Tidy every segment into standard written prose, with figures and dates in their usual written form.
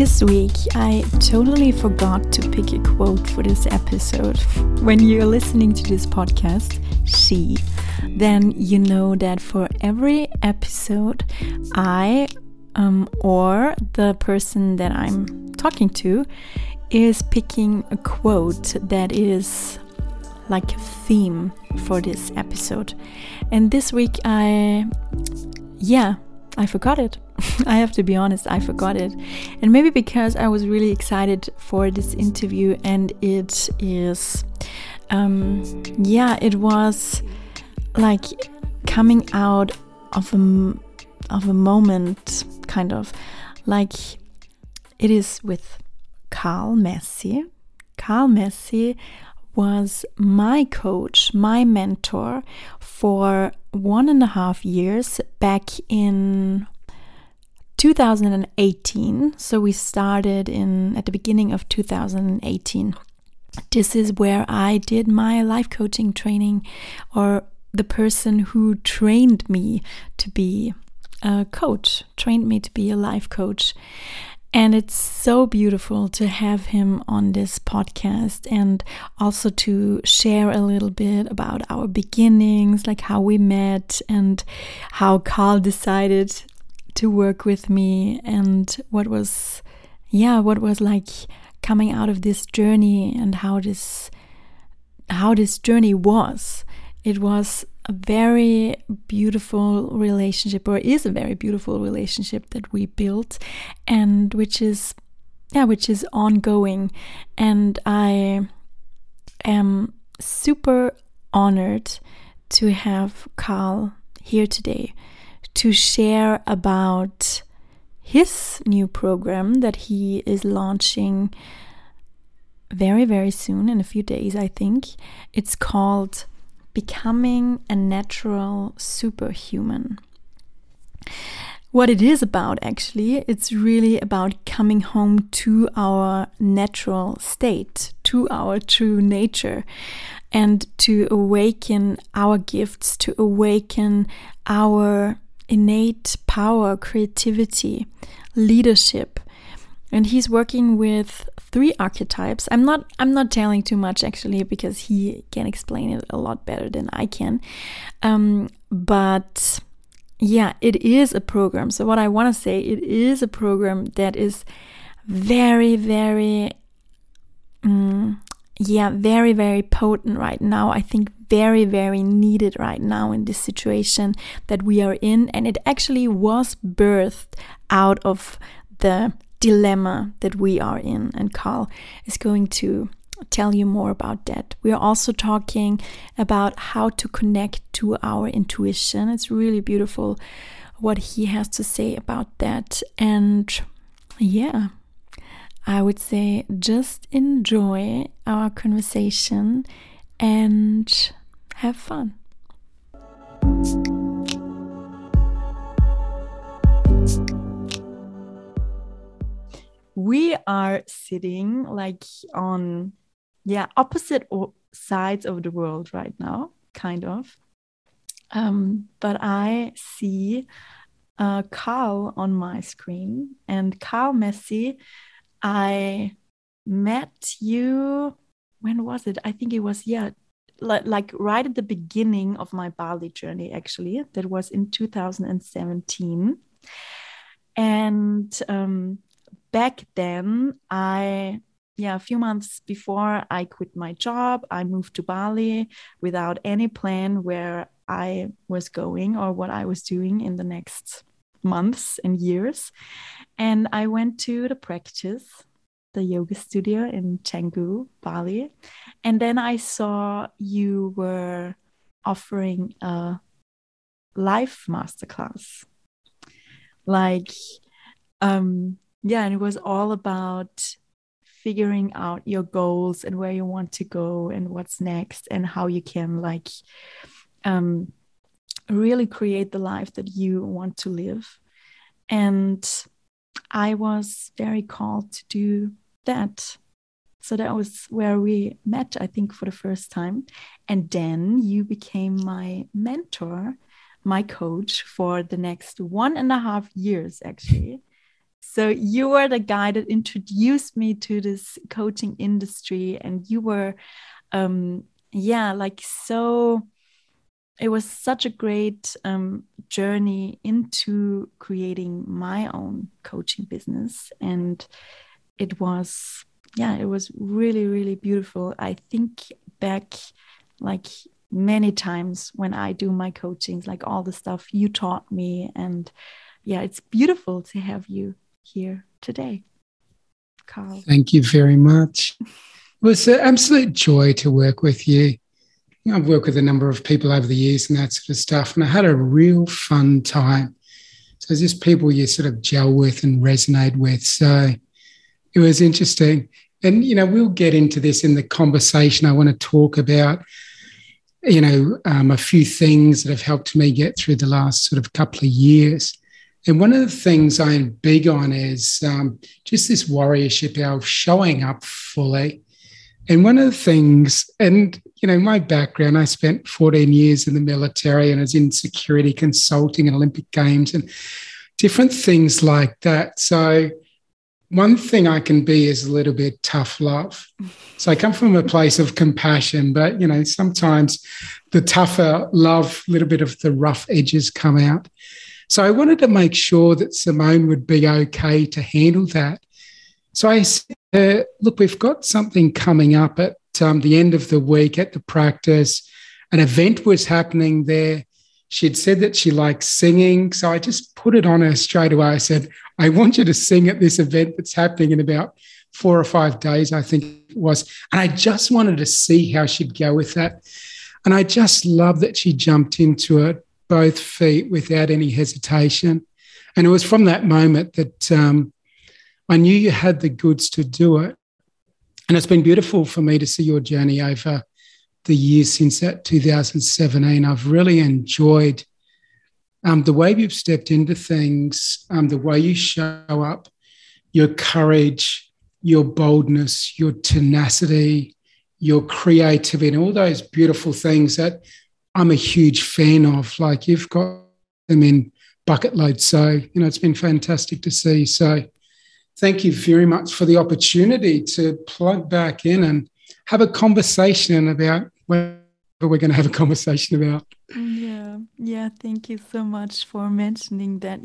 This week, I totally forgot to pick a quote for this episode. When you're listening to this podcast, then you know that for every episode, I or the person that I'm talking to is picking a quote that is like a theme for this episode. And this week, I forgot it. I have to be honest, I forgot it. And maybe because I was really excited for this interview, and it is, it was like coming out of a moment, kind of like it is with Carl Messi. Carl Messi was my coach, my mentor for 1.5 years back in 2018. So we started at the beginning of 2018. This is where I did my life coaching training, or the person who trained me to be a coach, trained me to be a life coach. And it's so beautiful to have him on this podcast, and also to share a little bit about our beginnings, like how we met and how Carl decided to work with me, and what was like coming out of this journey, and how this journey was. It was a very beautiful relationship, or is a very beautiful relationship that we built, and which is ongoing. And I am super honored to have Carl here today to share about his new program that he is launching very, very soon, in a few days, I think. It's called Becoming a Natural Superhuman. What it is about, actually, it's really about coming home to our natural state, to our true nature, and to awaken our gifts, to awaken our innate power, creativity, leadership. And he's working with 3 archetypes. I'm not telling too much, actually, because he can explain it a lot better than I can. But yeah, it is a program. So what I want to say, it is a program that is very, very, very, very potent right now. I think very, very needed right now in this situation that we are in. And it actually was birthed out of the dilemma that we are in, and Carl is going to tell you more about that. We are also talking about how to connect to our intuition. It's really beautiful what he has to say about that. And yeah, I would say just enjoy our conversation and have fun. We are sitting like on opposite sides of the world right now, kind of. But I see Carl on my screen, and Carl Messi, I met you, when was it? I think it was, like right at the beginning of my Bali journey, actually. That was in 2017. And back then, a few months before I quit my job, I moved to Bali without any plan where I was going or what I was doing in the next months and years. And I went to the yoga studio in Canggu, Bali. And then I saw you were offering a life masterclass. And it was all about figuring out your goals and where you want to go and what's next, and how you can really create the life that you want to live. And I was very called to do that. So that was where we met, I think, for the first time. And then you became my mentor, my coach for the next 1.5 years, actually. So you were the guy that introduced me to this coaching industry, and you were, like so. It was such a great journey into creating my own coaching business, and it was, it was really, really beautiful. I think back like many times when I do my coachings, like all the stuff you taught me, and it's beautiful to have you here today, Carl. Thank you very much. It was an absolute joy to work with you. I've worked with a number of people over the years and that sort of stuff, and I had a real fun time. So it's just people you sort of gel with and resonate with. So it was interesting. And, we'll get into this in the conversation. I want to talk about, a few things that have helped me get through the last sort of couple of years. And one of the things I'm big on is just this warriorship of showing up fully. And one of the things, and, my background, I spent 14 years in the military and I was in security consulting and Olympic Games and different things like that. So one thing I can be is a little bit tough love. So I come from a place of compassion, but, sometimes the tougher love, a little bit of the rough edges come out. So I wanted to make sure that Simone would be okay to handle that. So I said, look, we've got something coming up at the end of the week at the practice. An event was happening there. She'd said that she likes singing. So I just put it on her straight away. I said, I want you to sing at this event that's happening in about 4 or 5 days, I think it was. And I just wanted to see how she'd go with that. And I just love that she jumped into it, both feet, without any hesitation. And it was from that moment that I knew you had the goods to do it. And it's been beautiful for me to see your journey over the years since that 2017. I've really enjoyed the way you've stepped into things, the way you show up, your courage, your boldness, your tenacity, your creativity, and all those beautiful things that I'm a huge fan of. Like, you've got them in bucket loads. So, it's been fantastic to see. So thank you very much for the opportunity to plug back in and have a conversation about whatever we're going to have a conversation about. Yeah. Thank you so much for mentioning that.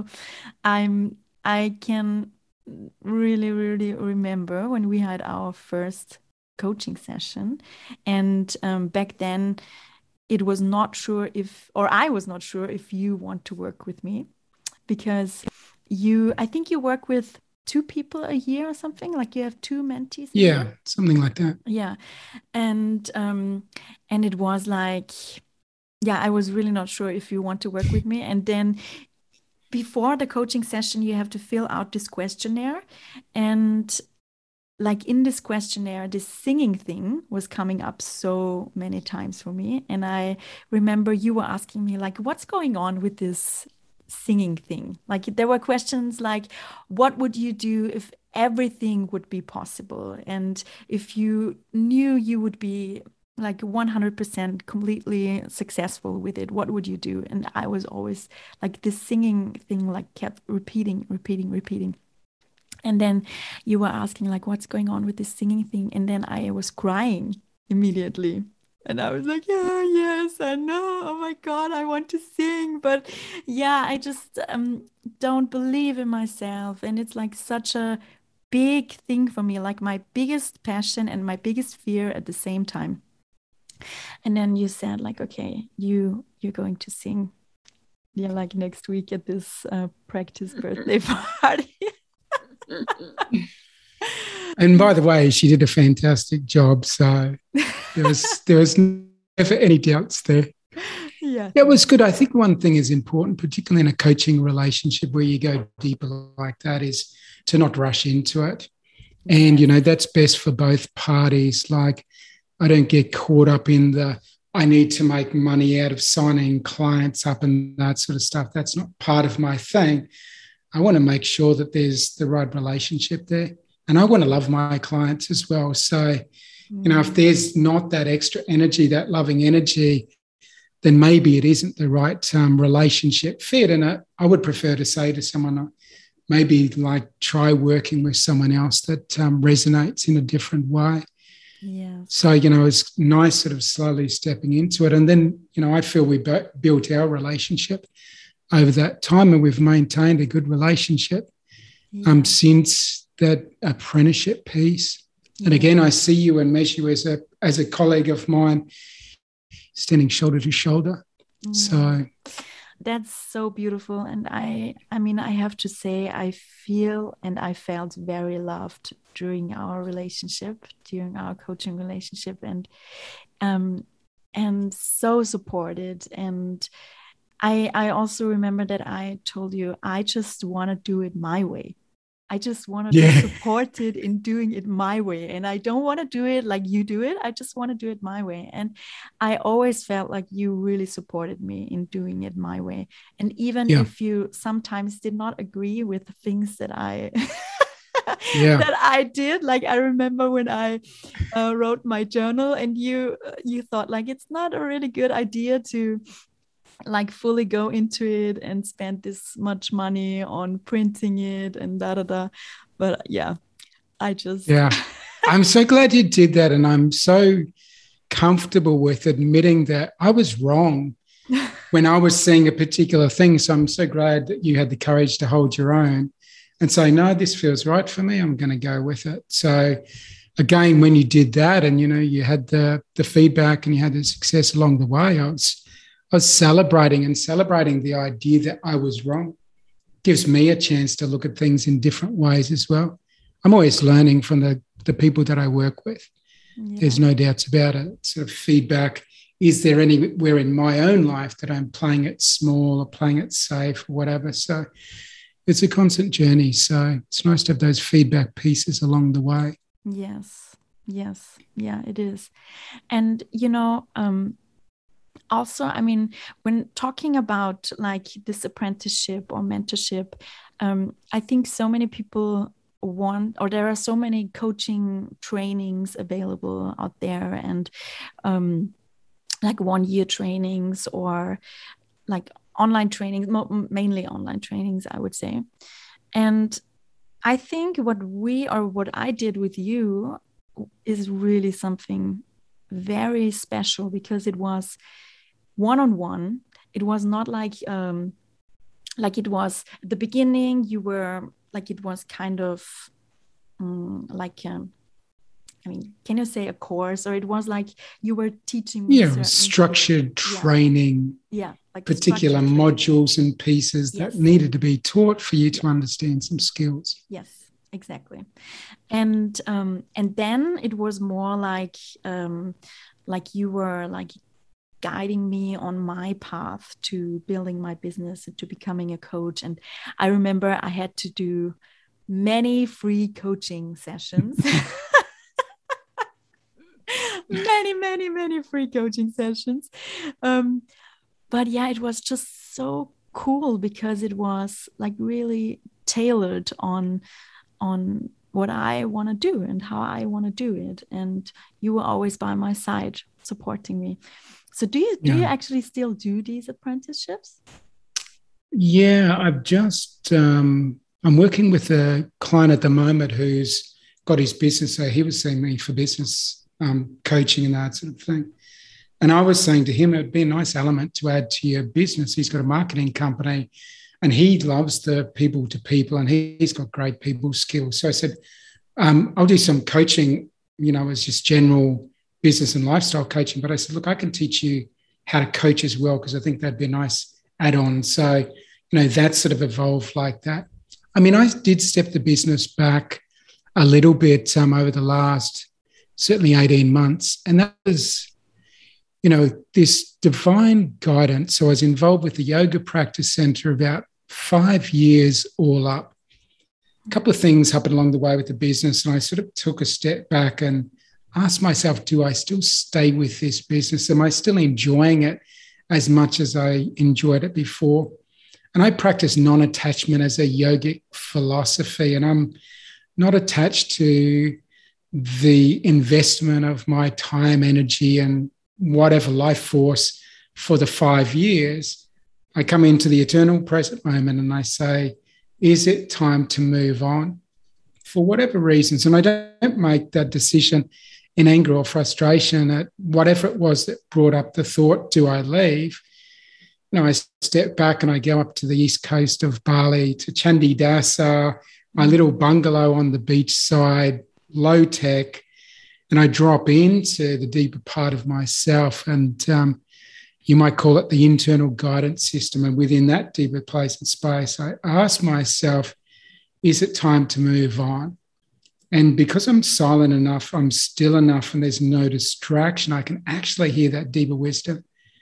I can really, really remember when we had our first coaching session, and back then I was not sure if you want to work with me, because I think you work with 2 people a year or something, like you have 2 mentees a year? Something like that. And it was like, I was really not sure if you want to work with me. And then before the coaching session, you have to fill out this questionnaire, and like in this questionnaire, this singing thing was coming up so many times for me. And I remember you were asking me, like, what's going on with this singing thing? Like, there were questions like, what would you do if everything would be possible, and if you knew you would be like 100% completely successful with it, what would you do? And I was always like, this singing thing like kept repeating. And then you were asking like, what's going on with this singing thing? And then I was crying immediately. And I was like, yes, I know. Oh my God, I want to sing. But I just don't believe in myself. And it's like such a big thing for me, like my biggest passion and my biggest fear at the same time. And then you said like, okay, you're going to sing. Like next week at this practice birthday party. And by the way, she did a fantastic job. So there was never any doubts there. It was good. I think one thing is important, particularly in a coaching relationship where you go deeper like that, is to not rush into it. And, that's best for both parties. Like, I don't get caught up in I need to make money out of signing clients up and that sort of stuff. That's not part of my thing. I want to make sure that there's the right relationship there. And I want to love my clients as well. So, if there's not that extra energy, that loving energy, then maybe it isn't the right relationship fit. And I would prefer to say to someone, maybe like try working with someone else that resonates in a different way. Yeah. So, it's nice sort of slowly stepping into it. And then, I feel we built our relationship over that time, and we've maintained a good relationship since that apprenticeship piece. And again, I see you and measure you as a colleague of mine, standing shoulder to shoulder. So that's so beautiful. And I mean, I have to say, I feel and I felt very loved during our relationship, during our coaching relationship, and so supported. And I also remember that I told you, I just want to do it my way. I just want to be supported in doing it my way. And I don't want to do it like you do it. I just want to do it my way. And I always felt like you really supported me in doing it my way. And even if you sometimes did not agree with the things that I that I did, like I remember when I wrote my journal, and you thought like it's not a really good idea to like fully go into it and spend this much money on printing it and but I'm so glad you did that, and I'm so comfortable with admitting that I was wrong when I was seeing a particular thing. So I'm so glad that you had the courage to hold your own and say, no, this feels right for me, I'm going to go with it. So again, when you did that and you had the feedback and you had the success along the way, I was celebrating the idea that I was wrong. Gives me a chance to look at things in different ways as well. I'm always learning from the people that I work with. Yeah. There's no doubts about it. Sort of feedback. Is there anywhere in my own life that I'm playing it small or playing it safe or whatever? So it's a constant journey. So it's nice to have those feedback pieces along the way. Yes. Yeah, it is. And, also, I mean, when talking about like this apprenticeship or mentorship, I think so many people there are so many coaching trainings available out there, and like 1-year trainings or like online trainings, mainly online trainings, I would say. And I think what I did with you is really something very special, because it was one-on-one. It was not like it was at the beginning. You were like, it was kind of can you say a course, or it was like you were teaching me structured training, like particular modules and pieces that needed to be taught for you to understand some skills. Yes, exactly. And then it was more like you were like guiding me on my path to building my business and to becoming a coach. And I remember I had to do many free coaching sessions. many free coaching sessions. But yeah, it was just so cool, because it was like really tailored on what I want to do and how I want to do it. And you were always by my side supporting me. So do you actually still do these apprenticeships? Yeah, I've just, I'm working with a client at the moment who's got his business. So he was seeing me for business coaching and that sort of thing. And I was saying to him, it'd be a nice element to add to your business. He's got a marketing company and he loves the people to people, and he's got great people skills. So I said, I'll do some coaching, as just general business and lifestyle coaching. But I said, look, I can teach you how to coach as well, because I think that'd be a nice add-on. So, that sort of evolved like that. I mean, I did step the business back a little bit over the last certainly 18 months. And that was, this divine guidance. So I was involved with the Yoga Practice Center about 5 years all up. A couple of things happened along the way with the business, and I sort of took a step back and asked myself, do I still stay with this business? Am I still enjoying it as much as I enjoyed it before? And I practice non-attachment as a yogic philosophy, and I'm not attached to the investment of my time, energy, and whatever life force for the 5 years. I come into the eternal present moment and I say, is it time to move on for whatever reasons? And I don't make that decision in anger or frustration at whatever it was that brought up the thought, do I leave? I step back and I go up to the east coast of Bali, to Candi Dasa, my little bungalow on the beachside, low tech, and I drop into the deeper part of myself. And you might call it the internal guidance system. And within that deeper place and space, I ask myself, is it time to move on? And because I'm silent enough, I'm still enough, and there's no distraction, I can actually hear that deeper wisdom.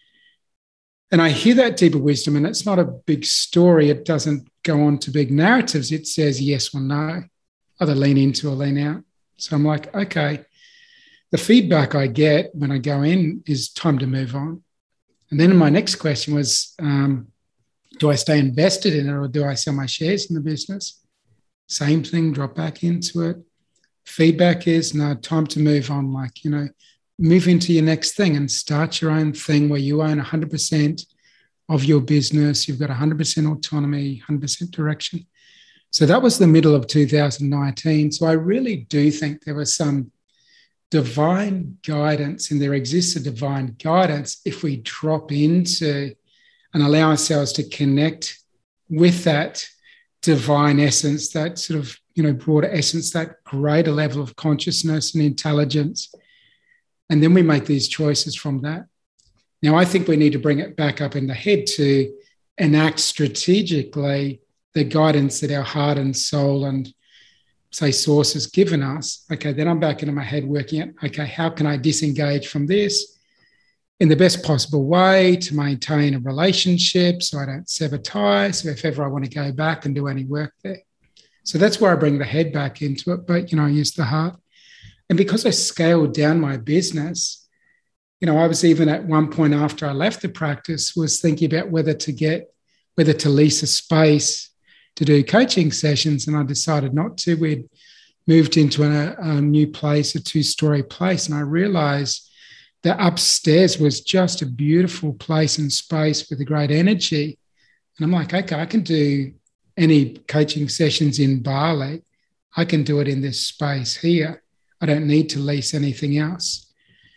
And I hear that deeper wisdom, and it's not a big story. It doesn't go on to big narratives. It says yes or no, either lean into or lean out. So I'm like, okay, the feedback I get when I go in is time to move on. And then my next question was, do I stay invested in it or do I sell my shares in the business? Same thing, drop back into it. Feedback is, no, time to move on. Like, move into your next thing and start your own thing where you own 100% of your business. You've got 100% autonomy, 100% direction. So that was the middle of 2019. So I really do think there was some divine guidance, and there exists a divine guidance if we drop into and allow ourselves to connect with that divine essence, that sort of, broader essence, that greater level of consciousness and intelligence. And then we make these choices from that. Now, I think we need to bring it back up in the head to enact strategically the guidance that our heart and soul and, say, source has given us. Okay, then I'm back into my head working out, okay, how can I disengage from this in the best possible way to maintain a relationship so I don't sever ties, so if ever I want to go back and do any work there. So that's where I bring the head back into it, but, I use the heart. And because I scaled down my business, I was even at one point after I left the practice was thinking about whether to lease a space to do coaching sessions, and I decided not to. We'd moved into a new place, a 2-story place, and I realized that upstairs was just a beautiful place and space with a great energy. And I'm like, okay, I can do any coaching sessions in Bali. I can do it in this space here. I don't need to lease anything else.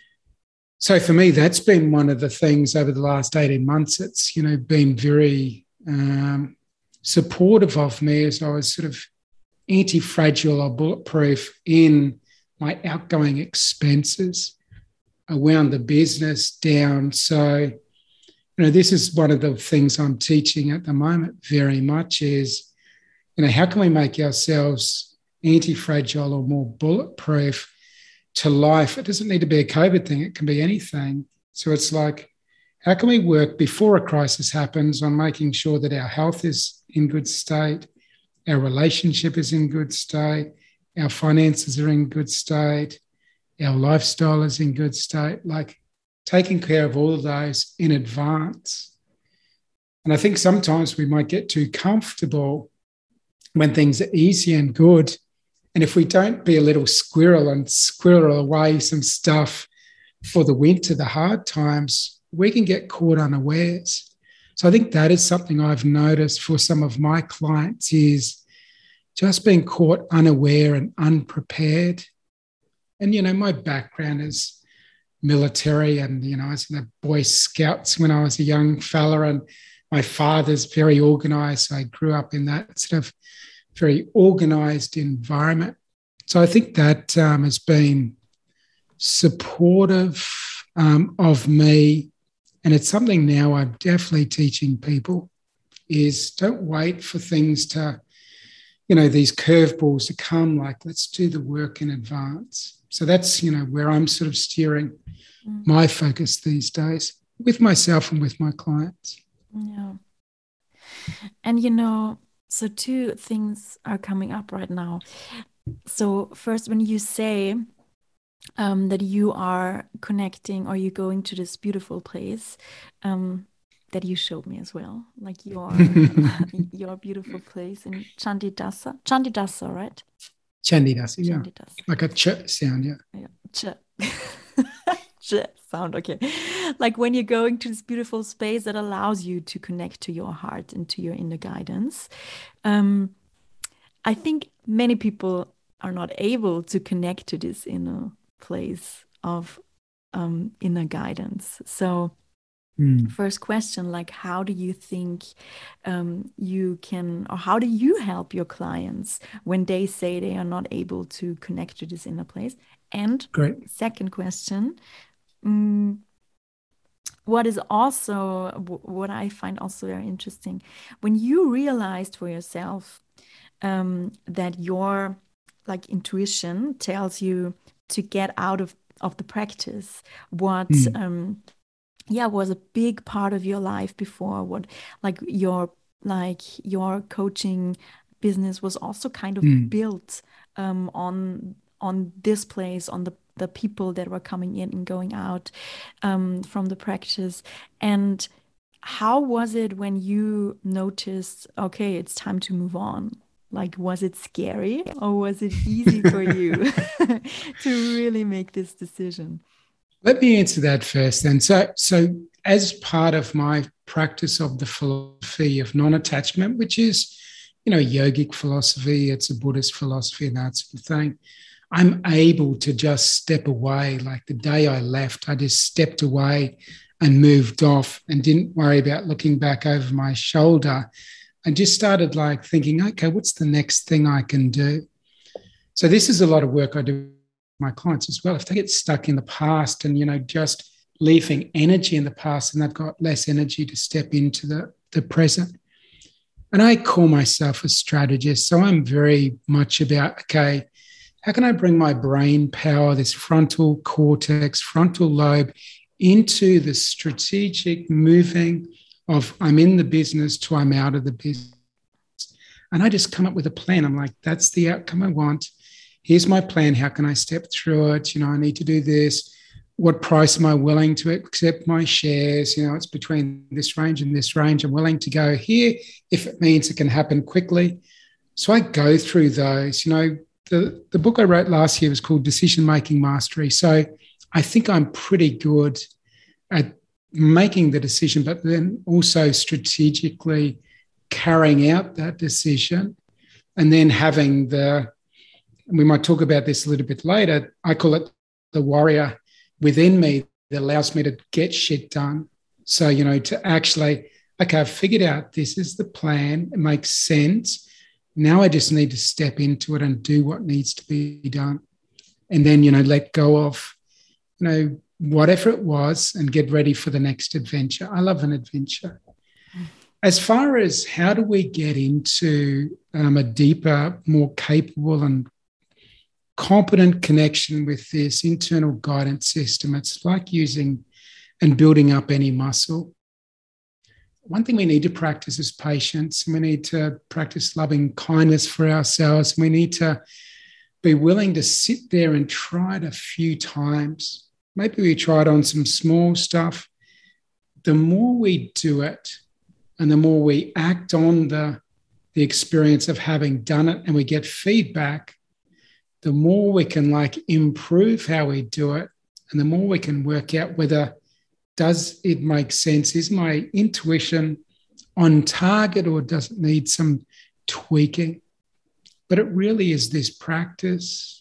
So for me, that's been one of the things over the last 18 months. It's, been very supportive of me as I was sort of anti-fragile or bulletproof in my outgoing expenses. I wound the business down. So, this is one of the things I'm teaching at the moment very much is, how can we make ourselves anti-fragile or more bulletproof to life? It doesn't need to be a COVID thing. It can be anything. So it's like, how can we work before a crisis happens on making sure that our health is in good state, our relationship is in good state, our finances are in good state, our lifestyle is in good state, like taking care of all of those in advance. And I think sometimes we might get too comfortable when things are easy and good. And if we don't be a little squirrel and squirrel away some stuff for the winter, the hard times, we can get caught unawares. So I think that is something I've noticed for some of my clients is just being caught unaware and unprepared. And, my background is military and, I was in the Boy Scouts when I was a young fella, and my father's very organised. So I grew up in that sort of very organised environment. So I think that has been supportive of me. And it's something now I'm definitely teaching people is don't wait for things to, these curveballs to come, like let's do the work in advance. So that's, where I'm sort of steering my focus these days with myself and with my clients. Yeah. And, so 2 things are coming up right now. So first, when you say that you are connecting or you're going to this beautiful place that you showed me as well, like your beautiful place in Candi Dasa, right? Candi Dasa, yeah. Candi Dasa. Like a ch sound, yeah. Yeah, ch. sound okay. Like when you're going to this beautiful space that allows you to connect to your heart and to your inner guidance. Um, I think many people are not able to connect to this inner place of inner guidance. So, first question, like, how do you think you can, or how do you help your clients when they say they are not able to connect to this inner place? And Great. second question, what is also what I find also very interesting, when you realized for yourself that your like intuition tells you to get out of the practice, what was a big part of your life before, what your coaching business was also kind of built on this place, on the people that were coming in and going out from the practice. And how was it when you noticed, okay, it's time to move on? Like, was it scary or was it easy for you to really make this decision? Let me answer that first then. So as part of my practice of the philosophy of non-attachment, which is, yogic philosophy, it's a Buddhist philosophy and that sort of thing, I'm able to just step away. Like the day I left, I just stepped away and moved off and didn't worry about looking back over my shoulder and just started like thinking, okay, what's the next thing I can do? So this is a lot of work I do with my clients as well. If they get stuck in the past and, just leaving energy in the past and they've got less energy to step into the present. And I call myself a strategist. So I'm very much about, okay, how can I bring my brain power, this frontal cortex, frontal lobe, into the strategic moving of I'm in the business to I'm out of the business. And I just come up with a plan. I'm like, that's the outcome I want. Here's my plan. How can I step through it? I need to do this. What price am I willing to accept my shares? It's between this range and this range. I'm willing to go here if it means it can happen quickly. So I go through those. The book I wrote last year was called Decision Making Mastery. So I think I'm pretty good at making the decision, but then also strategically carrying out that decision and then having we might talk about this a little bit later, I call it the warrior within me that allows me to get shit done. So, to actually, okay, I've figured out this is the plan. It makes sense. Now I just need to step into it and do what needs to be done. And then, let go of, whatever it was and get ready for the next adventure. I love an adventure. As far as how do we get into a deeper, more capable and competent connection with this internal guidance system, it's like using and building up any muscle. One thing we need to practice is patience. We need to practice loving kindness for ourselves. We need to be willing to sit there and try it a few times. Maybe we try it on some small stuff. The more we do it and the more we act on the experience of having done it and we get feedback, the more we can improve how we do it and the more we can work out whether does it make sense? Is my intuition on target or does it need some tweaking? But it really is this practice.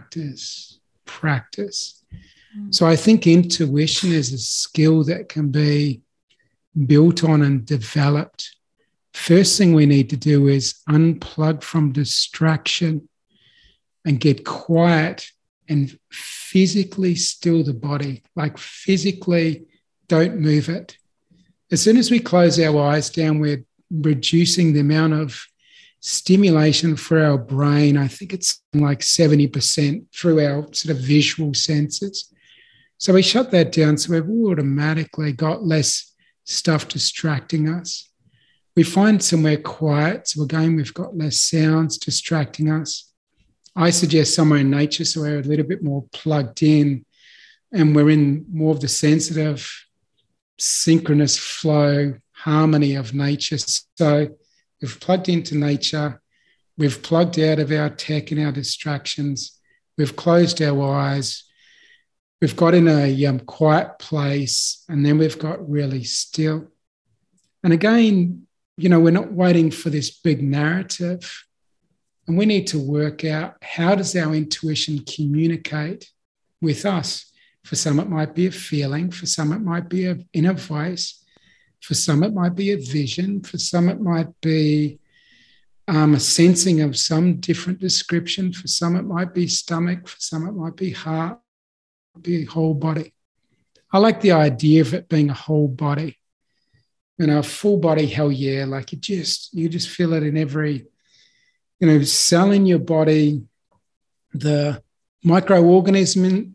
So I think intuition is a skill that can be built on and developed. First thing we need to do is unplug from distraction and get quiet and physically still the body, physically don't move it. As soon as we close our eyes down, we're reducing the amount of stimulation for our brain. I think it's 70% through our sort of visual senses. So we shut that down, so we've automatically got less stuff distracting us. We find somewhere quiet, so again, we've got less sounds distracting us. I suggest somewhere in nature so we're a little bit more plugged in and we're in more of the sensitive, synchronous flow, harmony of nature. So we've plugged into nature, we've plugged out of our tech and our distractions, we've closed our eyes, we've got in a quiet place, and then we've got really still. And again, we're not waiting for this big narrative, and we need to work out, how does our intuition communicate with us? For some, it might be a feeling. For some, it might be an inner voice. For some, it might be a vision. For some, it might be a sensing of some different description. For some, it might be stomach. For some, it might be heart, be whole body. I like the idea of it being a whole body. A full body, hell yeah. Like you just feel it in every, cell in your body, the microorganisms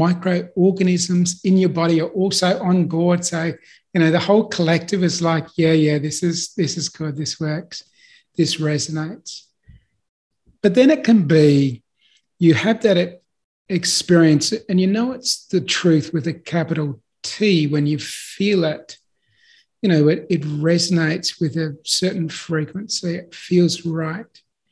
in your body are also on board. So, the whole collective is like, yeah, this is good, this works, this resonates. But then it can be, you have that experience, and it's the truth with a capital T when you feel it. It resonates with a certain frequency. It feels right.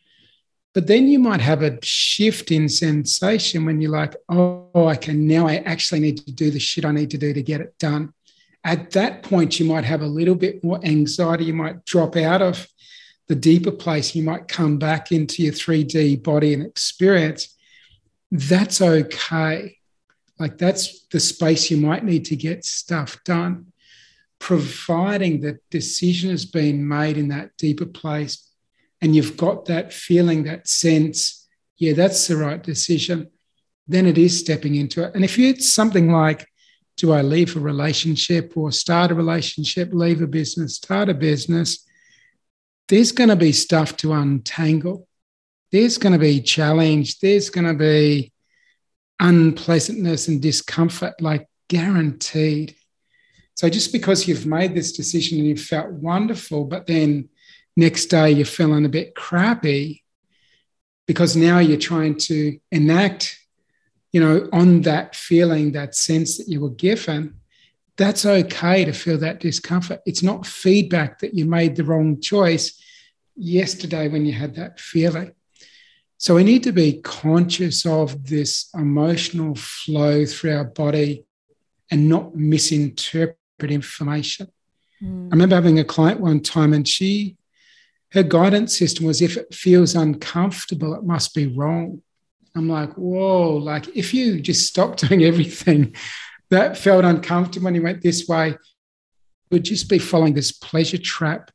But then you might have a shift in sensation when you're like, oh, okay, now I actually need to do the shit I need to do to get it done. At that point, you might have a little bit more anxiety. You might drop out of the deeper place. You might come back into your 3D body and experience. That's okay. Like that's the space you might need to get stuff done, providing that decision has been made in that deeper place. And you've got that feeling, that sense, yeah, that's the right decision, then it is stepping into it. And if it's something like, do I leave a relationship or start a relationship, leave a business, start a business, there's going to be stuff to untangle. There's going to be challenge. There's going to be unpleasantness and discomfort, like guaranteed. So just because you've made this decision and you've felt wonderful, but then next day you're feeling a bit crappy because now you're trying to enact, on that feeling, that sense that you were given, that's okay to feel that discomfort. It's not feedback that you made the wrong choice yesterday when you had that feeling. So we need to be conscious of this emotional flow through our body and not misinterpret information. I remember having a client one time and her guidance system was, if it feels uncomfortable, it must be wrong. I'm like, whoa, like if you just stopped doing everything that felt uncomfortable when you went this way, it would just be following this pleasure trap.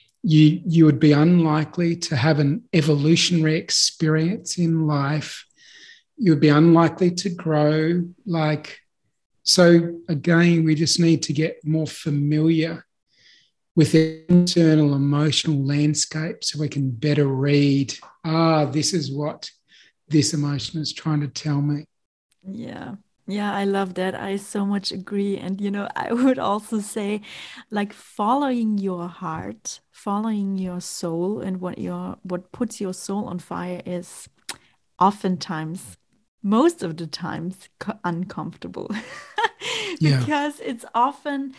You would be unlikely to have an evolutionary experience in life. You would be unlikely to grow. So again, we just need to get more familiar with the internal emotional landscape so we can better read, this is what this emotion is trying to tell me. Yeah. Yeah, I love that. I so much agree. And, I would also say, like, following your heart, following your soul, and what puts your soul on fire is oftentimes, most of the times, uncomfortable. Because it's often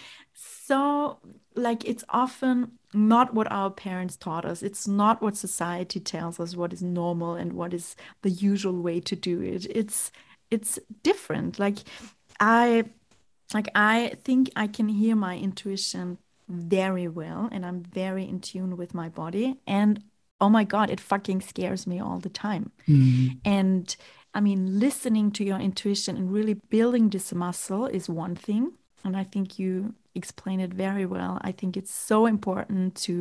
it's often not what our parents taught us. It's not what society tells us what is normal and what is the usual way to do it. It's different. I think I can hear my intuition very well, and I'm very in tune with my body. And oh my God, it fucking scares me all the time. And I mean, listening to your intuition and really building this muscle is one thing. And I think you explain it very well. I think it's so important to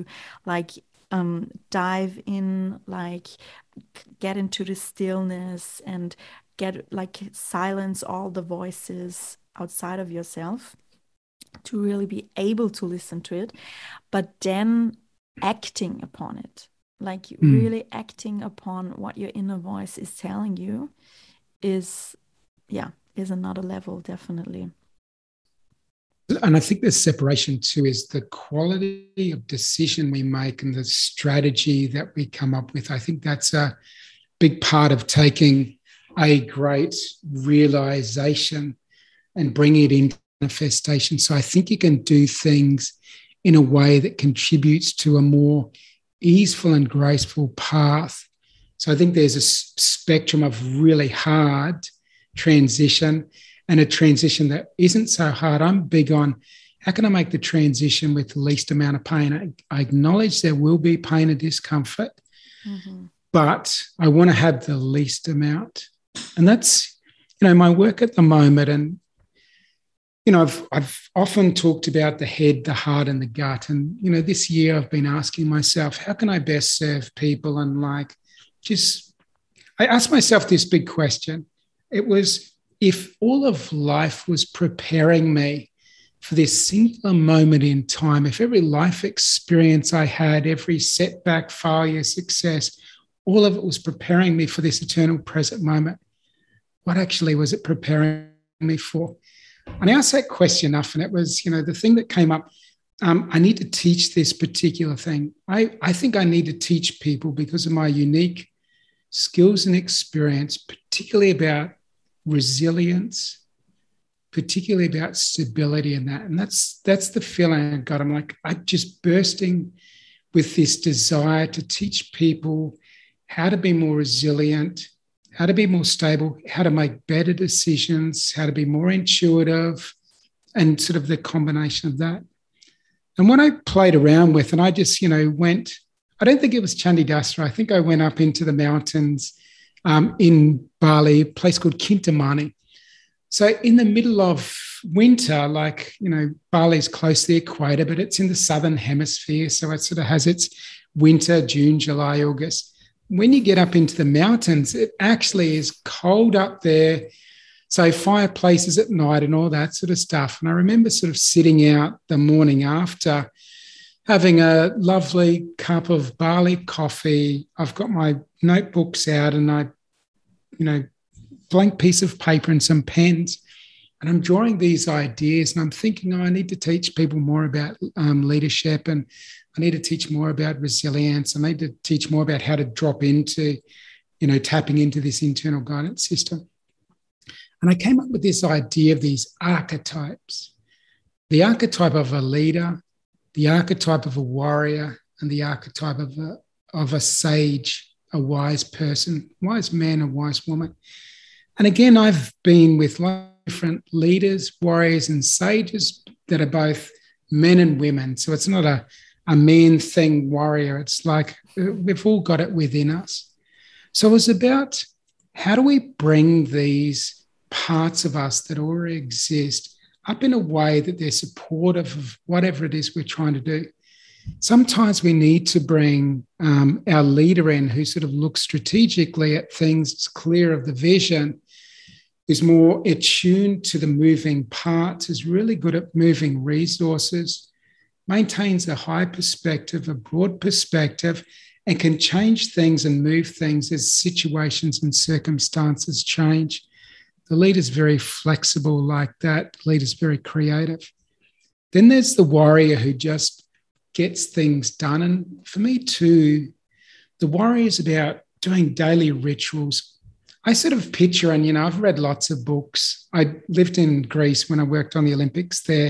dive in, get into the stillness and silence all the voices outside of yourself to really be able to listen to it, but then acting upon it, really acting upon what your inner voice is telling you is another level, definitely. And I think the separation too is the quality of decision we make and the strategy that we come up with. I think that's a big part of taking a great realization and bringing it into manifestation. So I think you can do things in a way that contributes to a more easeful and graceful path. So I think there's a spectrum of really hard transition and a transition that isn't so hard. I'm big on how can I make the transition with the least amount of pain? I acknowledge there will be pain and discomfort, but I want to have the least amount. And that's, my work at the moment. And, I've often talked about the head, the heart, and the gut. And, this year I've been asking myself, how can I best serve people? And I asked myself this big question. It was, if all of life was preparing me for this singular moment in time, if every life experience I had, every setback, failure, success, all of it was preparing me for this eternal present moment, what actually was it preparing me for? And I asked that question enough, and it was, the thing that came up, I need to teach this particular thing. I think I need to teach people because of my unique skills and experience, particularly about resilience, particularly about stability and that. And that's the feeling I got. I'm just bursting with this desire to teach people how to be more resilient, how to be more stable, how to make better decisions, how to be more intuitive, and sort of the combination of that. And what I played around with, and I just, went, I don't think it was Chandidasra. I think I went up into the mountains in Bali, a place called Kintamani. So in the middle of winter, Bali's close to the equator, but it's in the southern hemisphere. So it sort of has its winter, June, July, August. When you get up into the mountains, it actually is cold up there. So fireplaces at night and all that sort of stuff. And I remember sort of sitting out the morning after, having a lovely cup of Bali coffee. I've got my notebooks out and blank piece of paper and some pens. And I'm drawing these ideas and I'm thinking, I need to teach people more about leadership, and I need to teach more about resilience. I need to teach more about how to drop into, tapping into this internal guidance system. And I came up with this idea of these archetypes: the archetype of a leader, the archetype of a warrior, and the archetype of a sage, a wise person, wise man, a wise woman. And again, I've been with different leaders, warriors, and sages that are both men and women. So it's not a man thing, warrior. It's like we've all got it within us. So it's about how do we bring these parts of us that already exist up in a way that they're supportive of whatever it is we're trying to do. Sometimes we need to bring our leader in, who sort of looks strategically at things, is clear of the vision, is more attuned to the moving parts, is really good at moving resources, maintains a high perspective, a broad perspective, and can change things and move things as situations and circumstances change. The leader's very flexible like that. The leader's very creative. Then there's the warrior who just gets things done. And for me too, the warrior is about doing daily rituals. I sort of picture, and, I've read lots of books. I lived in Greece when I worked on the Olympics there.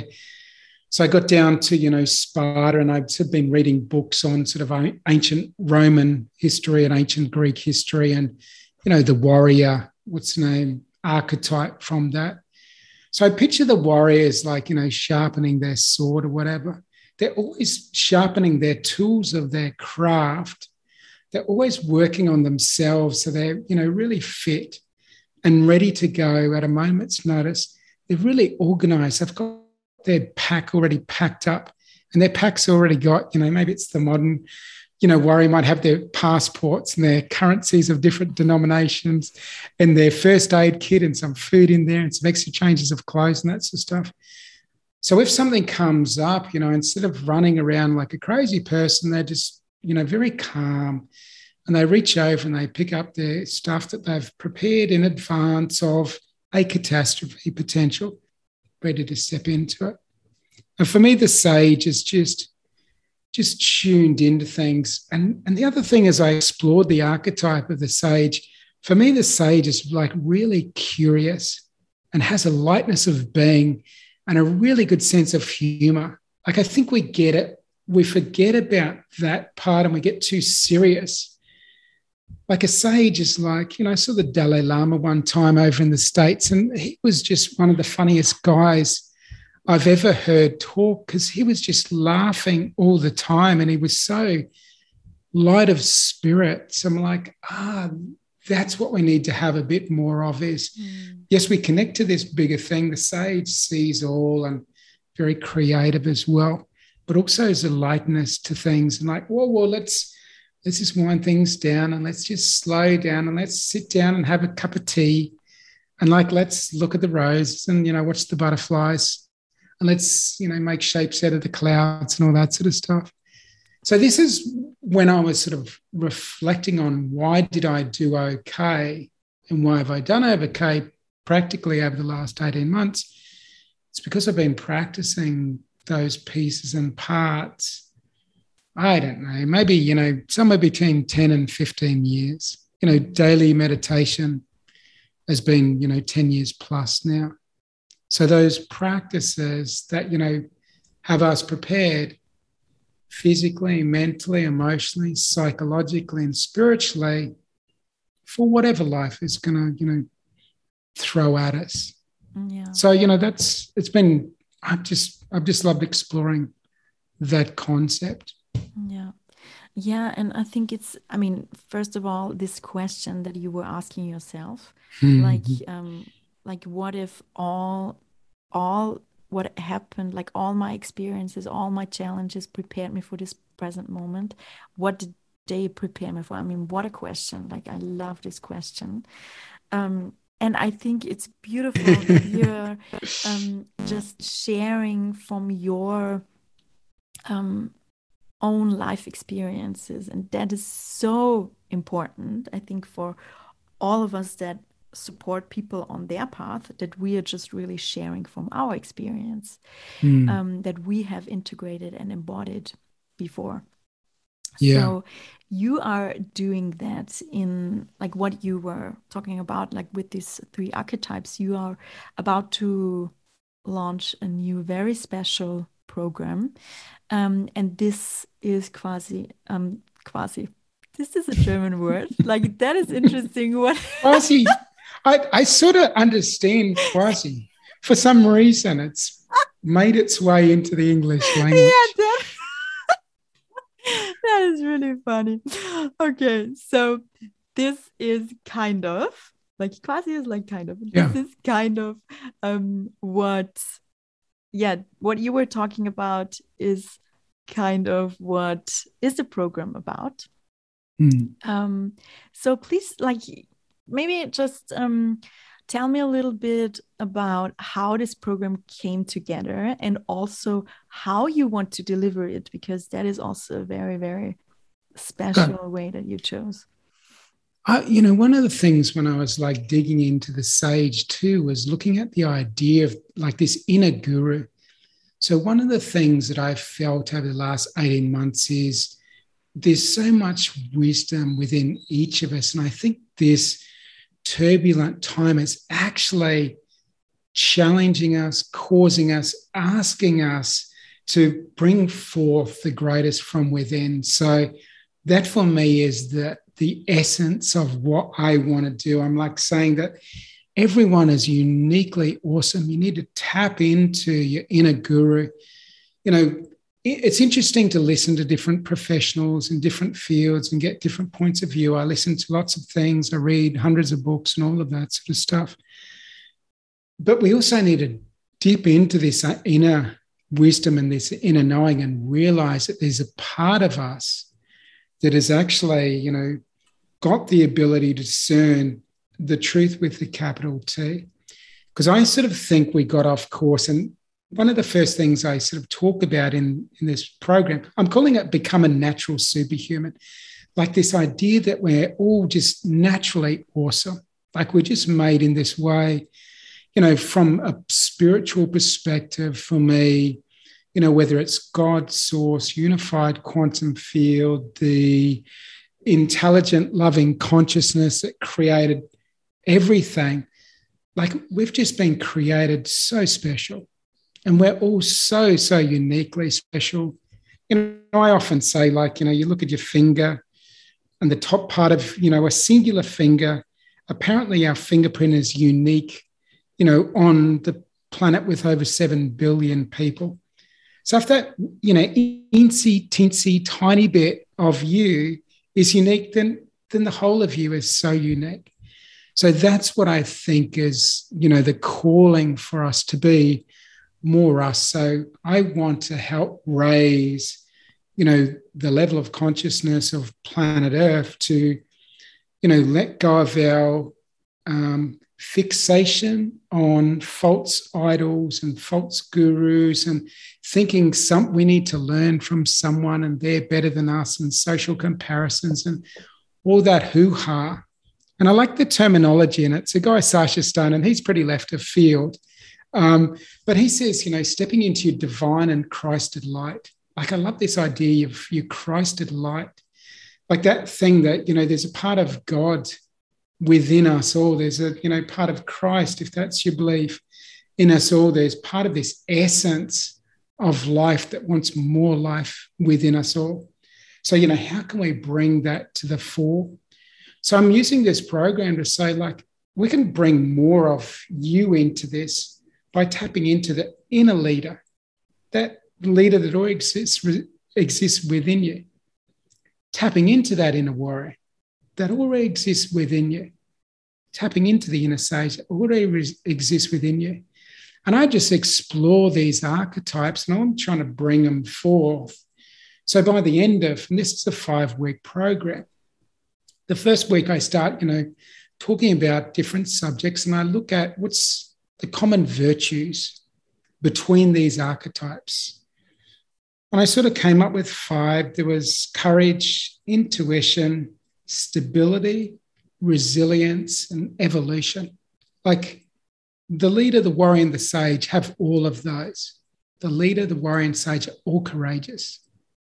So I got down to, Sparta, and I've sort of been reading books on sort of ancient Roman history and ancient Greek history and, the warrior, what's the name, archetype from that. So I picture the warriors like, sharpening their sword or whatever. They're always sharpening their tools of their craft. They're always working on themselves so they're, really fit and ready to go at a moment's notice. They're really organized. They've got their pack already packed up, and their pack's already got, maybe it's the modern, warrior might have their passports and their currencies of different denominations and their first aid kit and some food in there and some extra changes of clothes and that sort of stuff. So if something comes up, instead of running around like a crazy person, they're just, very calm, and they reach over and they pick up their stuff that they've prepared in advance of a catastrophe potential, ready to step into it. And for me, the sage is just tuned into things. And the other thing, as I explored the archetype of the sage, for me, the sage is like really curious and has a lightness of being and a really good sense of humor. Like, I think we get it. We forget about that part and we get too serious. like a sage is like, I saw the Dalai Lama one time over in the States, and he was just one of the funniest guys I've ever heard talk, because he was just laughing all the time and he was so light of spirit. So I'm like, that's what we need to have a bit more of is, yes, we connect to this bigger thing. The sage sees all and very creative as well, but also there's a lightness to things and like, whoa, let's just wind things down and let's just slow down and let's sit down and have a cup of tea and like, let's look at the roses and, watch the butterflies and let's, make shapes out of the clouds and all that sort of stuff. So this is when I was sort of reflecting on why did I do okay and why have I done okay practically over the last 18 months. It's because I've been practicing those pieces and parts, I don't know, maybe, somewhere between 10 and 15 years. Daily meditation has been, 10 years plus now. So those practices that, have us prepared physically, mentally, emotionally, psychologically, and spiritually for whatever life is going to, throw at us. Yeah. So, I've just loved exploring that concept. Yeah. Yeah. And I think first of all, this question that you were asking yourself, like what if all what happened, like all my experiences, all my challenges prepared me for this present moment? What did they prepare me for? What a question. Like, I love this question. And I think it's beautiful that you're just sharing from your own life experiences. And that is so important, I think, for all of us that support people on their path, that we are just really sharing from our experience, that we have integrated and embodied before. Yeah. So you are doing that in like what you were talking about, like with these 3 archetypes. You are about to launch a new, very special program. And this is quasi. This is a German word. Like, that is interesting. What quasi? I sort of understand quasi. For some reason, it's made its way into the English language. Yeah, that is really funny. Okay, so this is kind of like quasi is like kind of. Yeah. This is kind of what you were talking about is kind of what is the program about. So please, like, maybe just tell me a little bit about how this program came together and also how you want to deliver it, because that is also a very, very special way that you chose. One of the things when I was like digging into the sage too was looking at the idea of like this inner guru. So one of the things that I've felt over the last 18 months is there's so much wisdom within each of us. And I think this turbulent time is actually challenging us, causing us, asking us to bring forth the greatest from within. So that for me is the essence of what I want to do. I'm like saying that everyone is uniquely awesome. You need to tap into your inner guru. It's interesting to listen to different professionals in different fields and get different points of view. I listen to lots of things. I read hundreds of books and all of that sort of stuff. But we also need to dip into this inner wisdom and this inner knowing and realize that there's a part of us that has actually, got the ability to discern the truth with the capital T. Because I sort of think we got off course, and one of the first things I sort of talk about in this program, I'm calling it Become a Natural Superhuman, like this idea that we're all just naturally awesome, like we're just made in this way, from a spiritual perspective for me, whether it's God, source, unified quantum field, the intelligent, loving consciousness that created everything, like we've just been created so special. And we're all so, so uniquely special. I often say, like, you look at your finger, and the top part of, a singular finger. Apparently our fingerprint is unique, on the planet with over 7 billion people. So if that, teensy, teensy, tiny bit of you is unique, then the whole of you is so unique. So that's what I think is, the calling for us to be more us. So I want to help raise, the level of consciousness of planet Earth to, let go of our fixation on false idols and false gurus and thinking we need to learn from someone and they're better than us and social comparisons and all that hoo-ha. And I like the terminology, and it's a guy, Sasha Stone, and he's pretty left of field. But he says, stepping into your divine and Christed light. Like, I love this idea of your Christed light. Like that thing that, there's a part of God within us all. There's a, part of Christ, if that's your belief, in us all. There's part of this essence of life that wants more life within us all. So, how can we bring that to the fore? So I'm using this program to say, like, we can bring more of you into this by tapping into the inner leader, that leader that already exists within you. Tapping into that inner warrior that already exists within you. Tapping into the inner sage that already exists within you. And I just explore these archetypes and I'm trying to bring them forth. So by the end of, and this is a 5-week program, the first week I start, talking about different subjects and I look at what's the common virtues between these archetypes. And I sort of came up with 5. There was courage, intuition, stability, resilience, and evolution. Like the leader, the warrior, and the sage have all of those. The leader, the warrior, and sage are all courageous.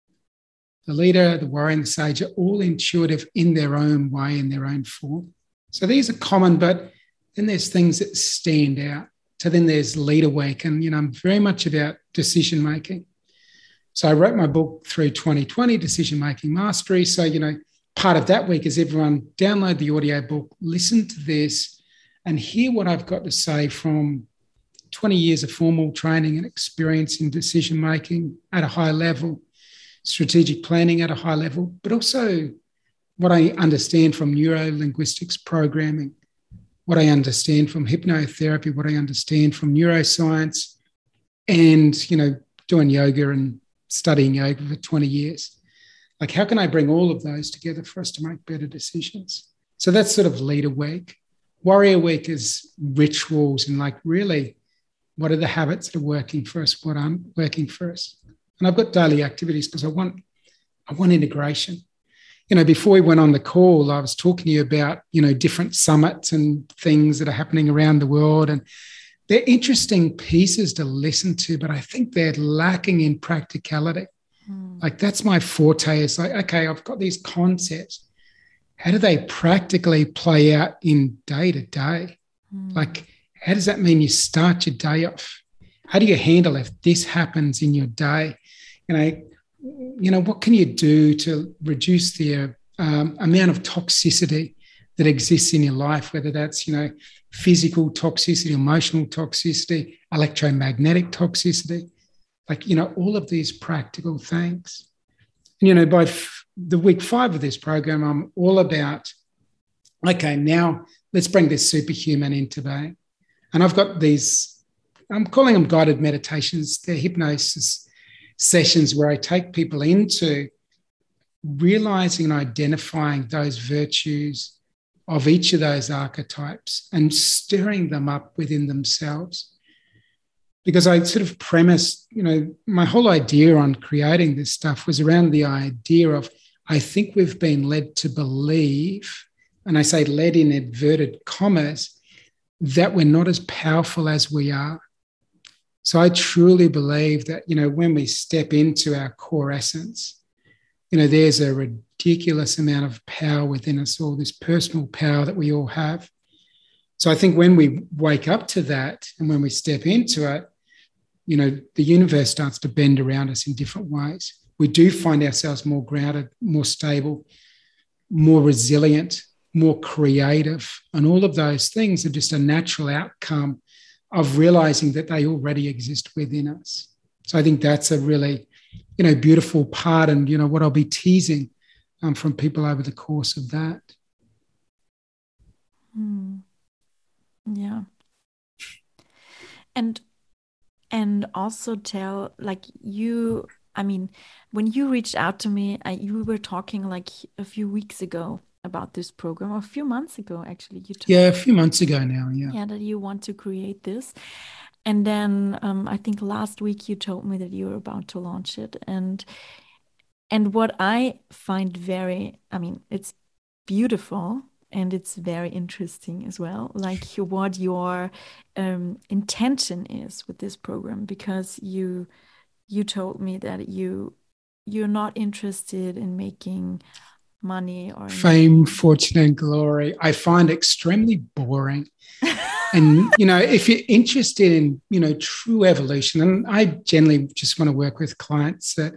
The leader, the warrior, and the sage are all intuitive in their own way, in their own form. So these are common, but then there's things that stand out. So then there's leader wake, and I'm very much about decision making. So I wrote my book through 2020, Decision Making Mastery. So part of that week is everyone download the audio book, listen to this, and hear what I've got to say from 20 years of formal training and experience in decision making at a high level. Strategic planning at a high level, but also what I understand from neuro-linguistics programming, what I understand from hypnotherapy, what I understand from neuroscience, and, doing yoga and studying yoga for 20 years. Like, how can I bring all of those together for us to make better decisions? So that's sort of leader week. Warrior week is rituals and really, what are the habits that are working for us, what aren't working for us? And I've got daily activities because I want integration. Before we went on the call, I was talking to you about, different summits and things that are happening around the world. And they're interesting pieces to listen to, but I think they're lacking in practicality. Like that's my forte. It's like, okay, I've got these concepts. How do they practically play out in day to day? Like, how does that mean you start your day off? How do you handle if this happens in your day? What can you do to reduce the amount of toxicity that exists in your life, whether that's, physical toxicity, emotional toxicity, electromagnetic toxicity, all of these practical things. And, by the week 5 of this program, I'm all about, okay, now let's bring this superhuman into being. And I've got these, I'm calling them guided meditations. They're hypnosis sessions where I take people into realizing and identifying those virtues of each of those archetypes and stirring them up within themselves. Because I sort of premised, my whole idea on creating this stuff was around the idea of, I think we've been led to believe, and I say led in inverted commas, that we're not as powerful as we are. So I truly believe that, when we step into our core essence, there's a ridiculous amount of power within us all, this personal power that we all have. So I think when we wake up to that and when we step into it, the universe starts to bend around us in different ways. We do find ourselves more grounded, more stable, more resilient, more creative. And all of those things are just a natural outcome of realizing that they already exist within us. So I think that's a really, beautiful part, and, what I'll be teasing from people over the course of that. Yeah. And also tell, when you reached out to me, you were talking like a few weeks ago about this program, or a few months ago, actually. A few months ago now, yeah. Yeah, that you want to create this. And then I think last week you told me that you were about to launch it. And what I find it's beautiful and it's very interesting as well, like what your intention is with this program, because you told me that you're not interested in making money or fame, fortune, and glory. I find extremely boring. And, if you're interested in, true evolution, and I generally just want to work with clients that,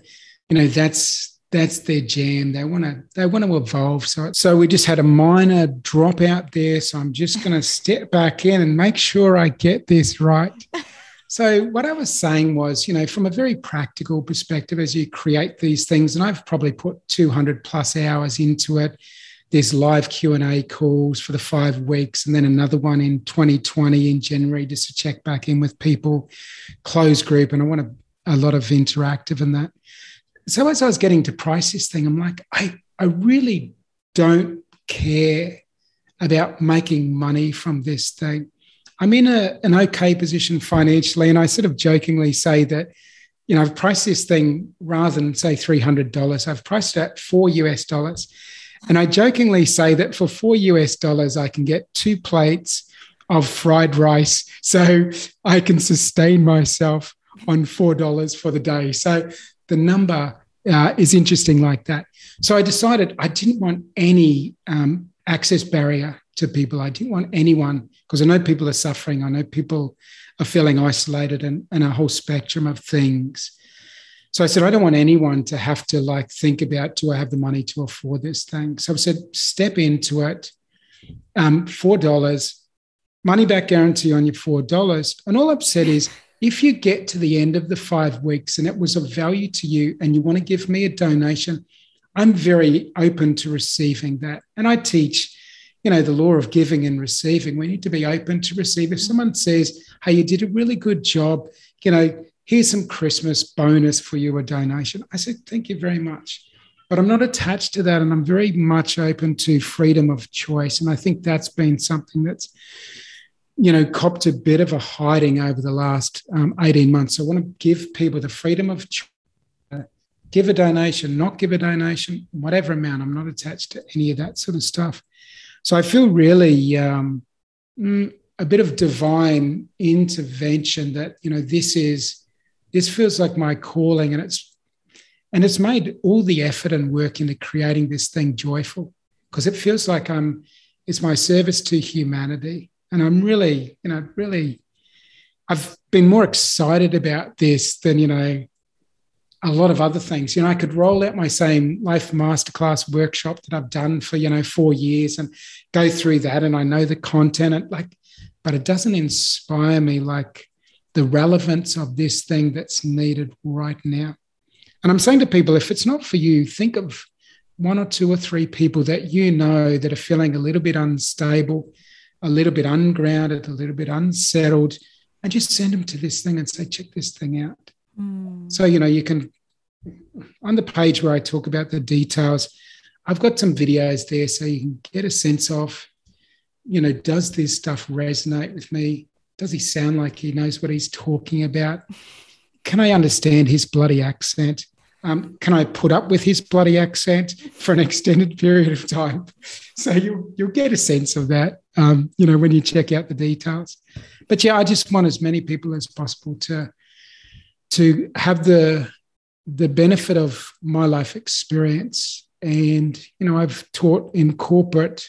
that's their jam. They want to evolve. So we just had a minor dropout there. So I'm just going to step back in and make sure I get this right. So what I was saying was, from a very practical perspective, as you create these things, and I've probably put 200 plus hours into it. There's live Q&A calls for the 5 weeks, and then another one in 2020 in January just to check back in with people, closed group, and I want a lot of interactive in that. So as I was getting to price this thing, I'm like, I really don't care about making money from this thing. I'm in an okay position financially, and I sort of jokingly say that, I've priced this thing rather than say $300. I've priced it at $4. And I jokingly say that for $4, I can get 2 plates of fried rice, so I can sustain myself on $4 for the day. So the number is interesting like that. So I decided I didn't want any access barrier to people. I didn't want anyone, because I know people are suffering. I know people are feeling isolated and a whole spectrum of things. So I said, I don't want anyone to have to think about, do I have the money to afford this thing? So I said, step into it, $4, money back guarantee on your $4. And all I've said is, if you get to the end of the 5 weeks and it was of value to you and you want to give me a donation, I'm very open to receiving that. And I teach, the law of giving and receiving. We need to be open to receive. If someone says, hey, you did a really good job, here's some Christmas bonus for you, a donation, I said, thank you very much. But I'm not attached to that, and I'm very much open to freedom of choice. And I think that's been something that's, copped a bit of a hiding over the last 18 months. So I want to give people the freedom of choice. Give a donation, not give a donation, whatever amount. I'm not attached to any of that sort of stuff. So I feel really a bit of divine intervention that, this feels like my calling, and it's made all the effort and work into creating this thing joyful, because it feels like it's my service to humanity. And I'm really, I've been more excited about this than, a lot of other things. I could roll out my same Life Masterclass workshop that I've done for, 4 years and go through that, and I know the content, and but it doesn't inspire me like the relevance of this thing that's needed right now. And I'm saying to people, if it's not for you, think of 1 or 2 or 3 people that that are feeling a little bit unstable, a little bit ungrounded, a little bit unsettled, and just send them to this thing and say, check this thing out. So, you can, on the page where I talk about the details, I've got some videos there so you can get a sense of, does this stuff resonate with me? Does he sound like he knows what he's talking about? Can I understand his bloody accent? Can I put up with his bloody accent for an extended period of time? So you'll get a sense of that, when you check out the details. But yeah, I just want as many people as possible to have the benefit of my life experience. And, I've taught in corporate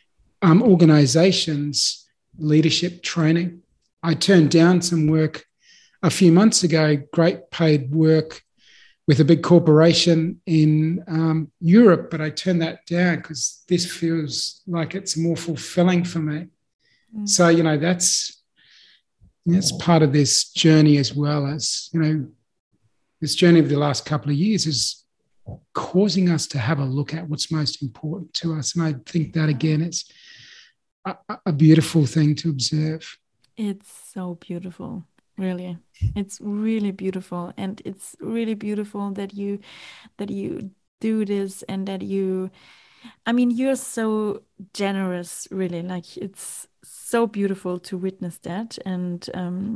organizations leadership training. I turned down some work a few months ago, great paid work with a big corporation in Europe, but I turned that down because this feels like it's more fulfilling for me. So, that's part of this journey, as well as, this journey of the last couple of years is causing us to have a look at what's most important to us. And I think that, again, is a beautiful thing to observe. It's so beautiful. Really, it's really beautiful, and it's really beautiful that you do this, and that you're so generous, really. Like, it's so beautiful to witness that. And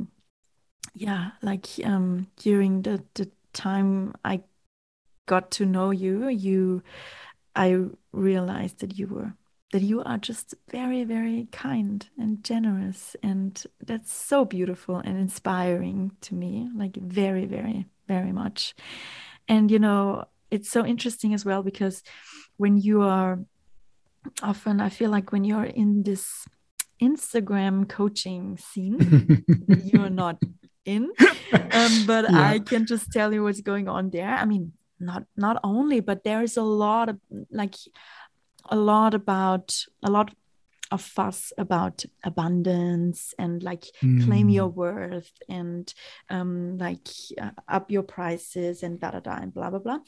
during the time I got to know you, I realized that you are just very, very kind and generous. And that's so beautiful and inspiring to me, like very, very, very much. And, it's so interesting as well, because when you are often, I feel like when you're in this Instagram coaching scene, you're not in, but I can just tell you what's going on there. I mean, not only, but there is a lot of fuss about abundance and claim your worth and up your prices and da da da and blah blah blah.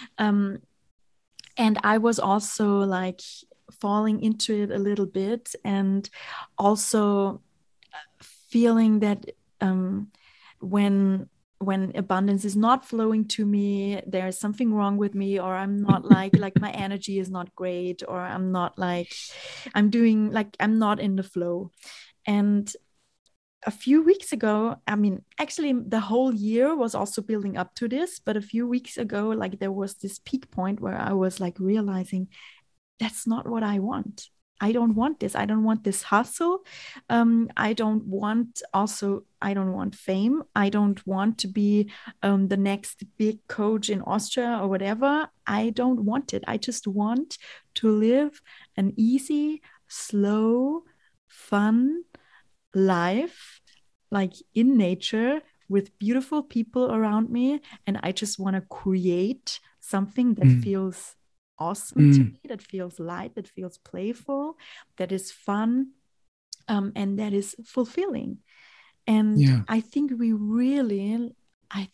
And I was also falling into it a little bit, and also feeling that when abundance is not flowing to me, there's something wrong with me, or I'm not like my energy is not great, or I'm not I'm not in the flow. And a few weeks ago, I mean, actually the whole year was also building up to this, but a few weeks ago, there was this peak point where I was realizing that's not what I want. I don't want this. I don't want this hustle. I don't want fame. I don't want to be the next big coach in Austria or whatever. I don't want it. I just want to live an easy, slow, fun life, in nature, with beautiful people around me. And I just want to create something that feels awesome to me, that feels light, that feels playful, that is fun, and that is fulfilling. And I think I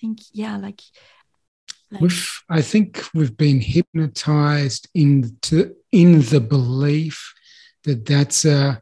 think we've been hypnotized in the belief that that's a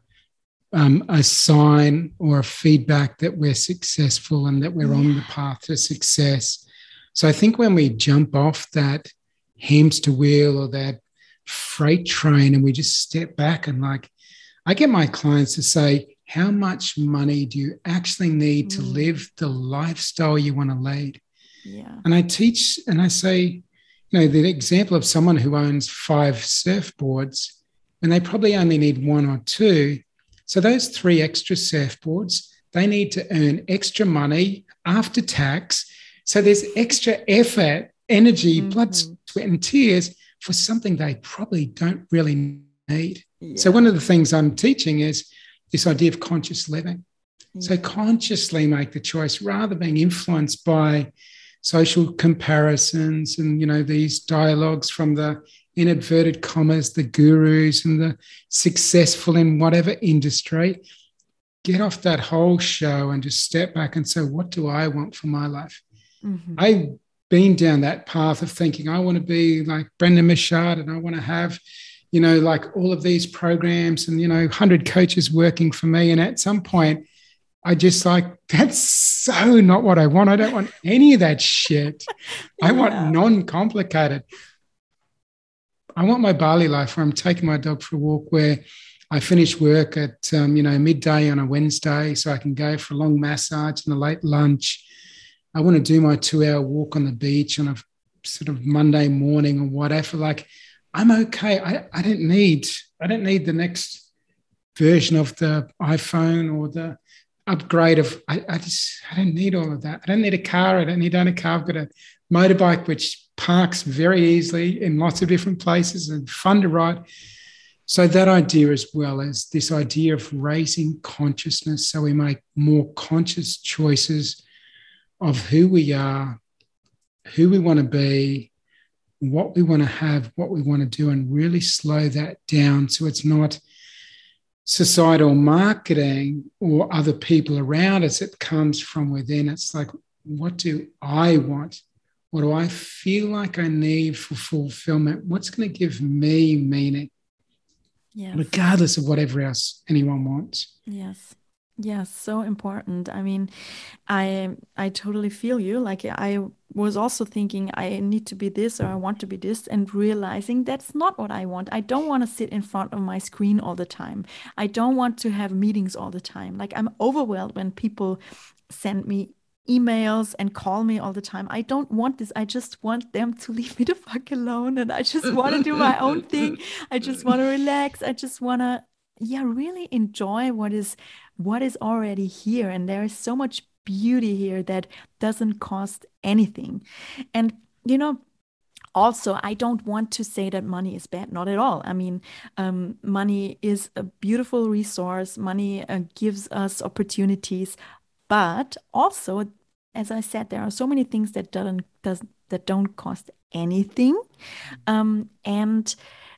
sign or a feedback that we're successful and that we're on the path to success. So I think when we jump off that hamster wheel or that freight train and we just step back and I get my clients to say, how much money do you actually need to live the lifestyle you want to lead? Yeah. And I teach and I say, the example of someone who owns 5 surfboards and they probably only need 1 or 2. So those 3 extra surfboards, they need to earn extra money after tax. So there's extra effort, energy, blood, sweat, and tears for something they probably don't really need. Yeah. So one of the things I'm teaching is this idea of conscious living. Yeah. So consciously make the choice rather than being influenced by social comparisons and, these dialogues from the, in inverted commas, the gurus and the successful in whatever industry. Get off that whole show and just step back and say, what do I want for my life? I've been down that path of thinking I want to be like Brendan Michaud and I want to have, all of these programs and, 100 coaches working for me. And at some point, I just that's so not what I want. I don't want any of that shit. I want non-complicated. I want my Bali life where I'm taking my dog for a walk, where I finish work at, midday on a Wednesday so I can go for a long massage and a late lunch. I want to do my 2-hour walk on the beach on a sort of Monday morning or whatever. I'm okay. I don't need the next version of the iPhone or the upgrade of, I don't need all of that. I don't need a car. I don't need to own a car. I've got a motorbike which parks very easily in lots of different places and fun to ride. So that idea, as well as this idea of raising consciousness so we make more conscious choices of who we are who we want to be, what we want to have, what we want to do, and really slow that down so it's not societal marketing or other people around us. It comes from within. It's like, what do I want? What do I feel like I need for fulfillment? What's going to give me meaning? Yes. Regardless of whatever else anyone wants. Yes. Yes, so important. I mean, I totally feel you. Like I was also thinking I need to be this or I want to be this and realizing that's not what I want. I don't want to sit in front of my screen all the time. I don't want to have meetings all the time. Like I'm overwhelmed when people send me emails and call me all the time. I don't want this. I just want them to leave me the fuck alone and I just want to do my own thing. I just want to relax. I just want to really enjoy what is already here. And there is so much beauty here that doesn't cost anything. And, also, I don't want to say that money is bad, not at all. I mean, money is a beautiful resource. Money gives us opportunities, but also, as I said, there are so many things that don't cost anything, and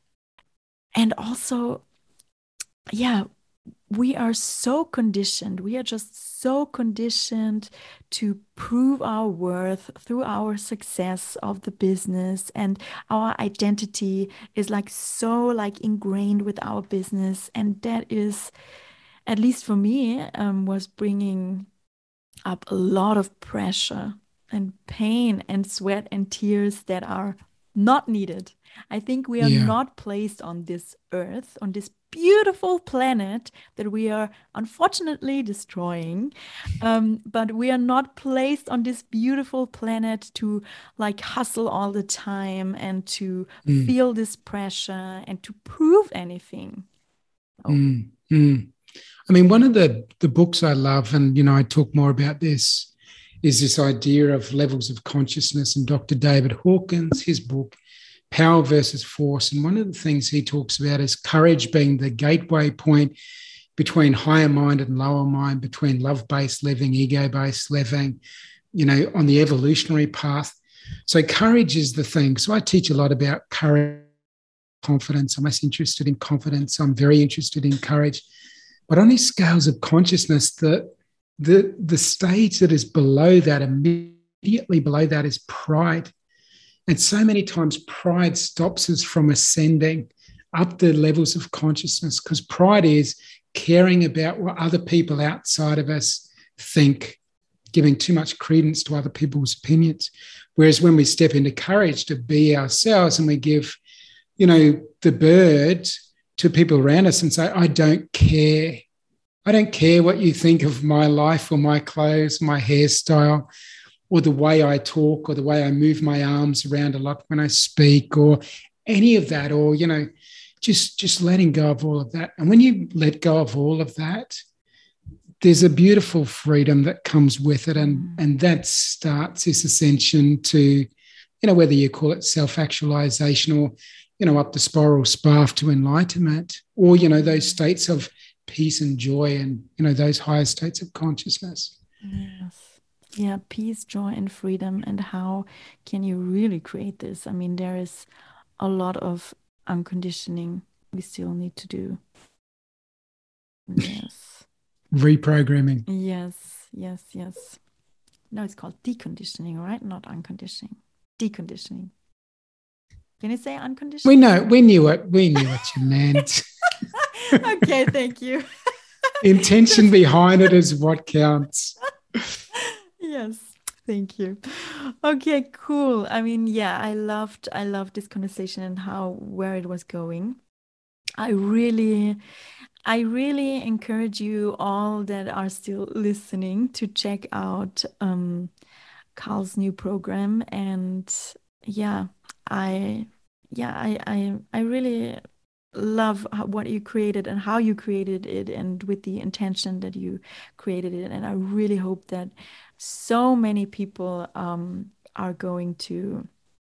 also, yeah, we are so conditioned. We are just so conditioned to prove our worth through our success of the business, and our identity is like so like ingrained with our business, and that is, at least for me, was bringing up a lot of pressure and pain and sweat and tears that are not needed. I think we are Yeah. not placed on this earth, on this beautiful planet that we are unfortunately destroying. But we are not placed on this beautiful planet to like hustle all the time and to feel this pressure and to prove anything. I mean, one of the books I love, and, I talk more about this, is this idea of levels of consciousness, and Dr. David Hawkins, his book, Power versus Force. And one of the things he talks about is courage being the gateway point between higher mind and lower mind, between love-based living, ego-based living, on the evolutionary path. So courage is the thing. So I teach a lot about courage, confidence. I'm less interested in confidence. I'm very interested in courage. But on these scales of consciousness, the stage that is below that, immediately below that, is pride. And so many times pride stops us from ascending up the levels of consciousness, because pride is caring about what other people outside of us think, giving too much credence to other people's opinions. Whereas when we step into courage to be ourselves and we give, the bird to people around us and say, I don't care. I don't care what you think of my life or my clothes, my hairstyle, or the way I talk, or the way I move my arms around a lot when I speak, or any of that, or, just letting go of all of that. And when you let go of all of that, there's a beautiful freedom that comes with it. And that starts this ascension to, whether you call it self-actualization or, up the spiral path to enlightenment, or, those states of peace and joy and, those higher states of consciousness. Yes. Yeah, peace, joy, and freedom. And how can you really create this? I mean, there is a lot of unconditioning we still need to do. Yes. Reprogramming. Yes. No, it's called deconditioning, right? Not unconditioning. Deconditioning. Can you say unconditional? We knew what you meant. Okay, thank you. Intention behind it is what counts. Yes, thank you. Okay, cool. I mean, yeah, I loved this conversation and where it was going. I really encourage you all that are still listening to check out Carl's new program. And yeah, I really love what you created and how you created it, and with the intention that you created it. And I really hope that so many people are going to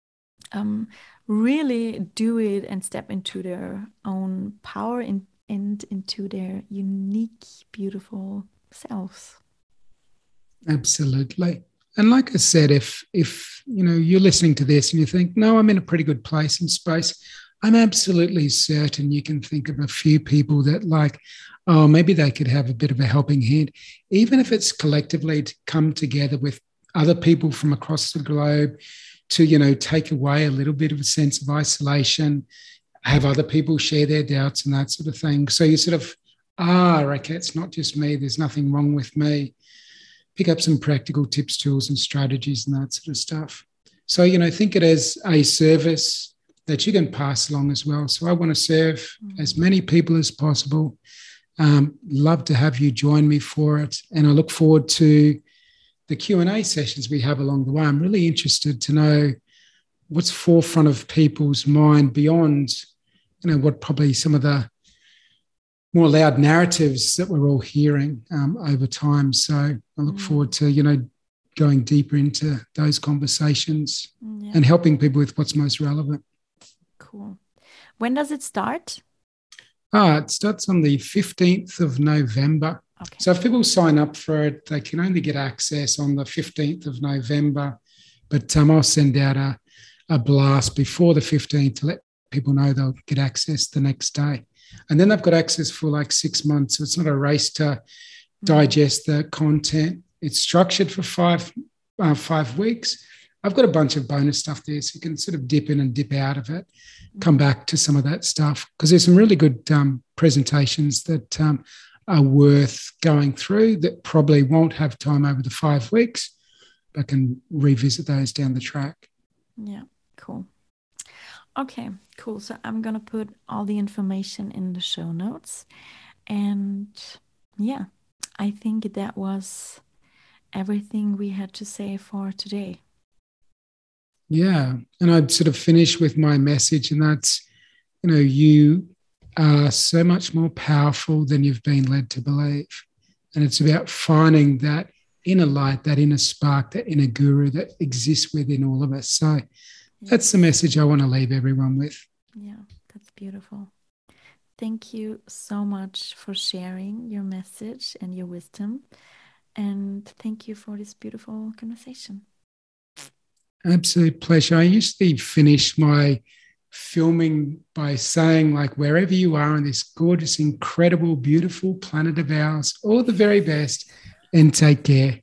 really do it and step into their own power and into their unique, beautiful selves. Absolutely. And like I said, if you're listening to this and you think, no, I'm in a pretty good place in space, I'm absolutely certain you can think of a few people that like, oh, maybe they could have a bit of a helping hand, even if it's collectively to come together with other people from across the globe to, take away a little bit of a sense of isolation, have other people share their doubts and that sort of thing. So you sort of, okay, it's not just me. There's nothing wrong with me. Pick up some practical tips, tools, and strategies and that sort of stuff. So, think it as a service that you can pass along as well. So I want to serve as many people as possible. Love to have you join me for it. And I look forward to the Q&A sessions we have along the way. I'm really interested to know what's forefront of people's mind beyond, what probably some of the more loud narratives that we're all hearing over time. So I look forward to, going deeper into those conversations and helping people with what's most relevant. Cool. When does it start? It starts on the 15th of November. Okay. So if people sign up for it, they can only get access on the 15th of November. But I'll send out a blast before the 15th to let people know they'll get access the next day. And then they've got access for like 6 months. So it's not a race to digest the content. It's structured for 5 weeks. I've got a bunch of bonus stuff there, so you can sort of dip in and dip out of it, come back to some of that stuff, because there's some really good presentations that are worth going through that probably won't have time over the 5 weeks, but can revisit those down the track. Yeah, cool. Okay, cool. So I'm going to put all the information in the show notes. And yeah, I think that was everything we had to say for today. Yeah. And I'd sort of finish with my message, and that's, you are so much more powerful than you've been led to believe. And it's about finding that inner light, that inner spark, that inner guru that exists within all of us. So that's the message I want to leave everyone with. Yeah, that's beautiful. Thank you so much for sharing your message and your wisdom. And thank you for this beautiful conversation. Absolute pleasure. I usually finish my filming by saying, like, wherever you are on this gorgeous, incredible, beautiful planet of ours, all the very best, and take care.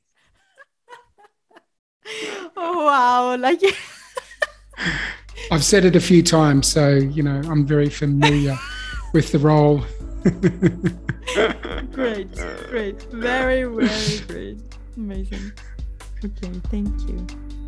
Oh, wow. Like I've said it a few times, so, I'm very familiar with the role. Great. Very, very great. Amazing. Okay, thank you.